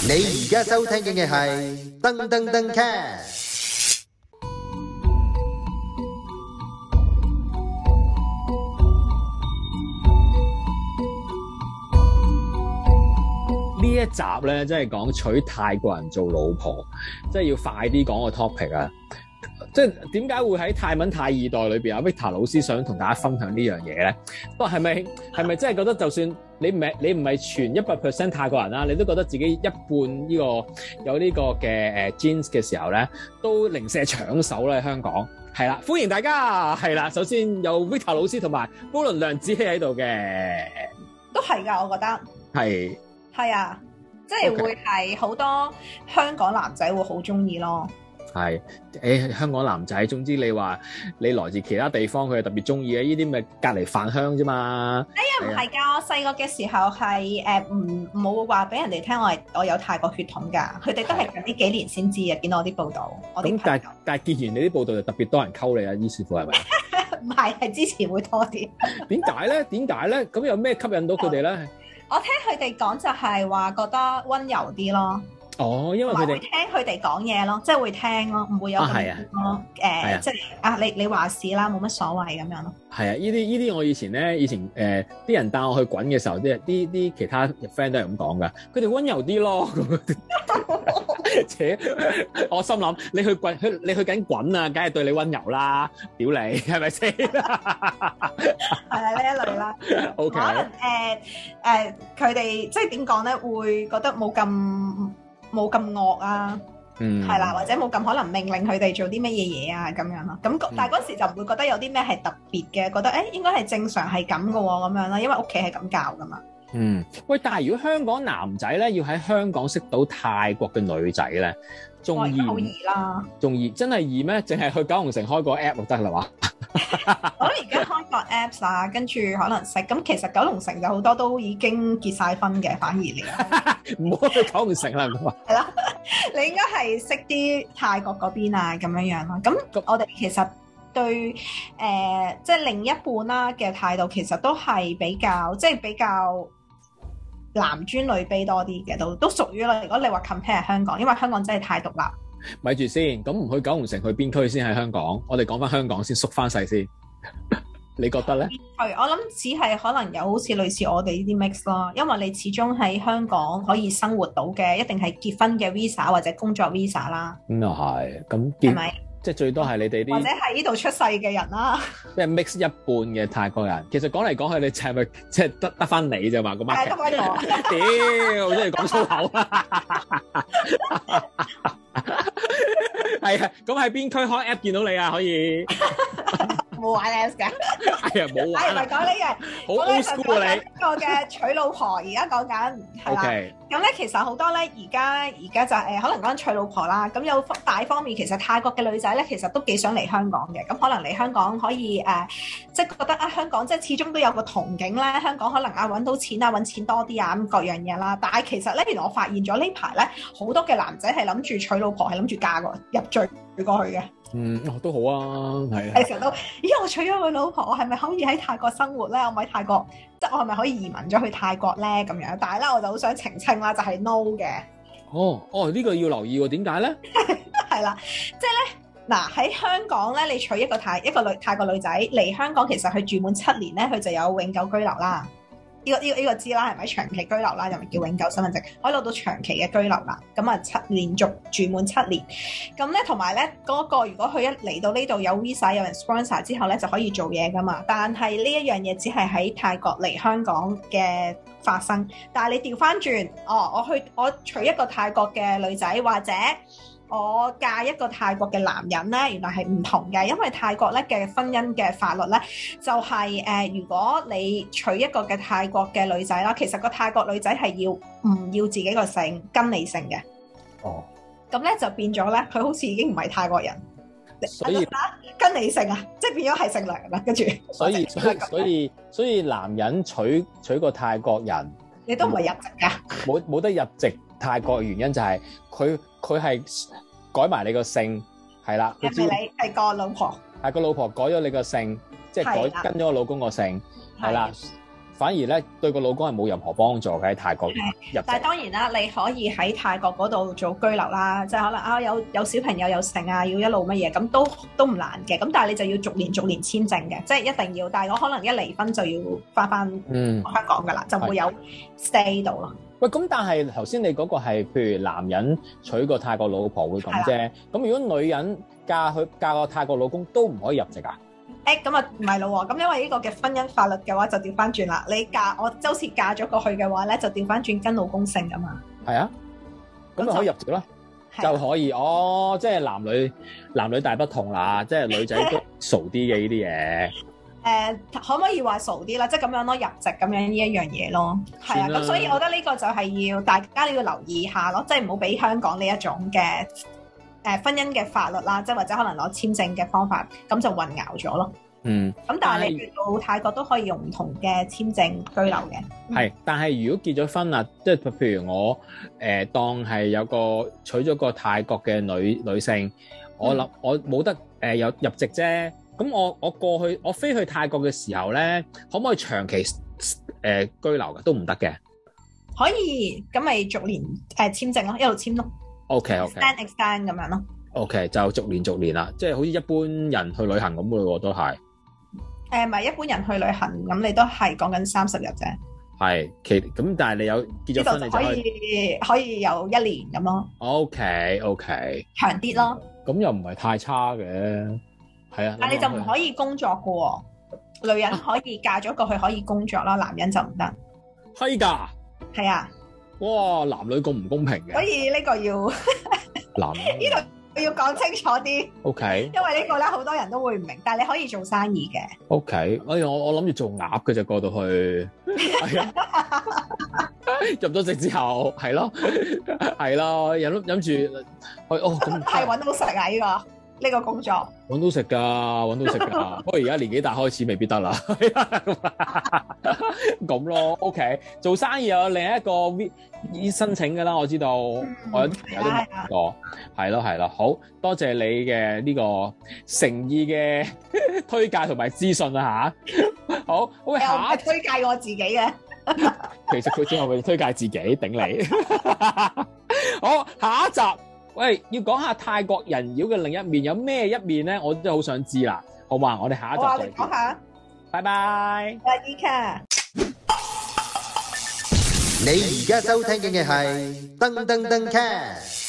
你而家收聽嘅係噔噔噔 cast。 呢一集咧，真係講娶泰國人做老婆，即係要快啲講個 topic 啊！即係點解會喺泰文泰二代裏邊啊 Victor 老師想同大家分享呢樣嘢咧？不過係咪真係覺得就算你唔係全100% 泰國人啦，你都覺得自己一半呢個有呢個嘅genes 嘅時候咧，都零舍搶手咧香港。係啦，歡迎大家。係啦，首先有 Victor 老師同埋高倫梁子希喺度嘅， 都係㗎，我覺得係啊，即係會係好多香港男仔會好中意咯。 係香港男仔，總之你話你來自其他地方，佢係特別中意嘅，呢啲咪隔離飯香啫嘛。 唔係㗎，我細個嘅時候係冇話俾人哋聽我有泰國血統㗎，佢哋都係近呢幾年先知嘅，見到我啲報道。 咁但係見完你啲報道就特別多人溝你啊，於是乎係咪？ 唔係之前會多啲。點解咧？咁有咩吸引到佢哋咧？ 我聽佢哋講就係話覺得温柔啲咯。哦，因為佢哋會聽佢哋講嘢咯，即係會聽咯，唔會有咁咯。即係你話事啦，冇乜所謂咁樣咯。係啊， 呢啲我以前啲人帶我去滾嘅時候，啲其他 friend 都係咁講噶，佢哋温柔啲咯。我心諗你去緊滾啊，梗係對你温柔啦，屌你係咪先？係啊，呢一類啦。OK。可能佢哋即係點講咧，會覺得冇咁惡啊，係啦，或者冇咁可能命令佢哋做啲乜嘢啊咁樣咯。咁但係嗰時就唔會覺得有啲咩係特別嘅，覺得應該係正常係咁嘅喎咁樣啦，因為屋企係咁教噶嘛。 喂，但係如果香港男仔咧要喺香港識到泰國嘅女仔咧，仲易好易啦， 仲易真係易咩？淨係去九龍城開個 app 就得啦嘛？ 我諗而家開個 apps 啊，跟住可能識咁，其實九龍城就好多都已經結晒婚嘅，反而你唔好去九龍城啦，咁啊， 係啦，你應該係識啲泰國嗰邊啊咁樣樣咯。咁我哋其實對即係另一半啦嘅態度，其實都係比較男尊女卑多啲嘅，都屬於啦。如果你話 compare 香港，因為香港真係太獨立。 咪住先，咁唔去九龍城，去邊區先喺香港？我哋講翻香港先，縮翻細先。你覺得咧？ 係，我諗只係可能有好似類似我哋呢啲 mix 咯，因為你始終喺香港可以生活到嘅，一定係結婚嘅 visa 或者工作 visa 啦。 咁又係，咁係咪？ 即係最多係你哋啲或者係呢度出世嘅人啦。 即係 mix 一半嘅泰國人。其實講嚟講去，你係咪即係得翻你啫嘛？個 market 得翻我。 屌，真係講粗口啊！係啊，咁喺邊區開 app 見到你啊？可以冇玩 apps 嘅， 係啊，冇玩。 唔係講呢樣， 好 old school 啊你。 個嘅娶老婆，而家講緊係啦。咁咧，其實好多咧，而家就可能講娶老婆啦。咁有大方面，其實泰國嘅女仔咧，其實都幾想嚟香港嘅。咁可能嚟香港可以即係覺得香港即係始終都有個憧憬咧。香港可能揾到錢啊，揾錢多啲啊，咁各樣嘢啦。但係其實咧，原來我發現咗呢排咧，好多嘅男仔係諗住娶老婆，係諗住嫁過入贅過去嘅。 都好啊，係。 係成日都，我娶咗個老婆，我係咪可以喺泰國生活咧？我咪喺泰國，即係我係咪可以移民咗去泰國咧？咁樣，但係咧我就好想澄清啦，就係 no 嘅。 呢個要留意喎，點解咧？ 係啦，即係咧嗱喺香港咧，你娶一個泰國女仔嚟香港，其實佢住滿7年咧，佢就有永久居留啦。呢個知啦，係咪長期居留啦？又咪叫永久身份證，可以攞到長期嘅居留啦。咁啊連續住滿7年，咁咧同埋咧嗰個如果佢一嚟到呢度有 visa 有人 sponsor 之後咧就可以做嘢噶嘛。但係呢一樣嘢只係喺泰國嚟香港嘅發生。但係你調翻轉，我娶一個泰國嘅女仔或者我嫁一個泰國嘅男人咧，原來係唔同嘅，因為泰國咧嘅婚姻嘅法律咧就係如果你娶一個嘅泰國嘅女仔啦，其實個泰國女仔係唔要自己個姓跟你姓嘅。咁咧就變咗咧，佢好似已經唔係泰國人， 所以跟你姓啊，即係變咗係姓梁啦。跟住所以男人娶個泰國人， 你都唔係入籍㗎， 冇得入籍泰國嘅原因就係佢係改埋你個姓，係啦。 係咪你係個老婆？ 係個老婆改咗你個姓，即係跟咗個老公個姓，係啦。 反而咧對個老公係冇任何幫助嘅喺泰國入籍。 但係當然啦，你可以喺泰國嗰度做居留啦，即係可能啊有小朋友有成啊，要一路乜嘢咁都唔難嘅。咁但係你就要逐年簽證嘅，即係一定要。但係我可能一離婚就要翻香港㗎啦，就會有 stay 到咯。 喂，咁但係頭先你嗰個係譬如男人娶個泰國老婆會咁啫，咁如果女人嫁個泰國老公都唔可以入籍啊？ 咁啊唔係咯喎，咁因為呢個嘅婚姻法律嘅話就調翻轉啦。我周時嫁咗過去嘅話咧，就調翻轉跟老公姓噶嘛。係啊， 咁咪可以入籍咯，就可以哦。即係男女大不同啦，即係女仔都傻啲嘅呢啲嘢。 可唔可以話傻啲啦？即係咁樣咯，入籍咁樣呢一樣嘢咯。係啊，咁所以我覺得呢個就係要大家要留意下咯，即係唔好俾香港呢一種嘅婚姻嘅法律啦，即係或者可能攞簽證嘅方法，咁就混淆咗咯。咁但係你去到泰國都可以用唔同嘅簽證居留嘅。係， 但係如果結咗婚啦，即係譬如我當係有個娶咗個泰國嘅女性，我冇得有入籍啫。咁我過去我飛去泰國嘅時候咧，可唔可以長期居留嘅？都唔得嘅。 可以，咁咪逐年簽證咯，一路簽咯。extend 咁樣咯。 OK， 就逐年啦，即係好似一般人去旅行咁嘅喎，都係。 唔係一般人去旅行，咁你都係講緊30日啫。 係，咁但係你有結咗婚，你就可以有1年咁咯。 OK， 長啲咯。 咁又唔係太差嘅。係啊， 但係你就唔可以工作噶喎，女人可以嫁咗過去可以工作啦，男人就唔得。 係㗎。係啊。 哇，男女咁唔公平嘅。 所以呢個要男呢度要講清楚啲。 OK。因為呢個咧好多人都會唔明，但係你可以做生意嘅。 OK，我諗住做鴨嘅啫，過到去。係啊。入咗籍之後，係咯，諗住咁係揾到食啊！呢個工作揾到食㗎，不過而家年紀大開始未必得啦。咁咯 ，OK， 做生意有另一個申請㗎啦，我知道，我有啲朋友都問過，係咯，好多謝你嘅呢個誠意嘅推介同埋資訊啊嚇。好，喂，下一推介我自己嘅， 其實佢最後會推介自己頂你。好，下一集。喂，要講下泰國人妖嘅另一面，有咩一面咧？我真係好想知啦，好嘛？我哋下一集再見。 講下， 拜拜。 Eka， 你而家收聽嘅係噔噔噔 cast。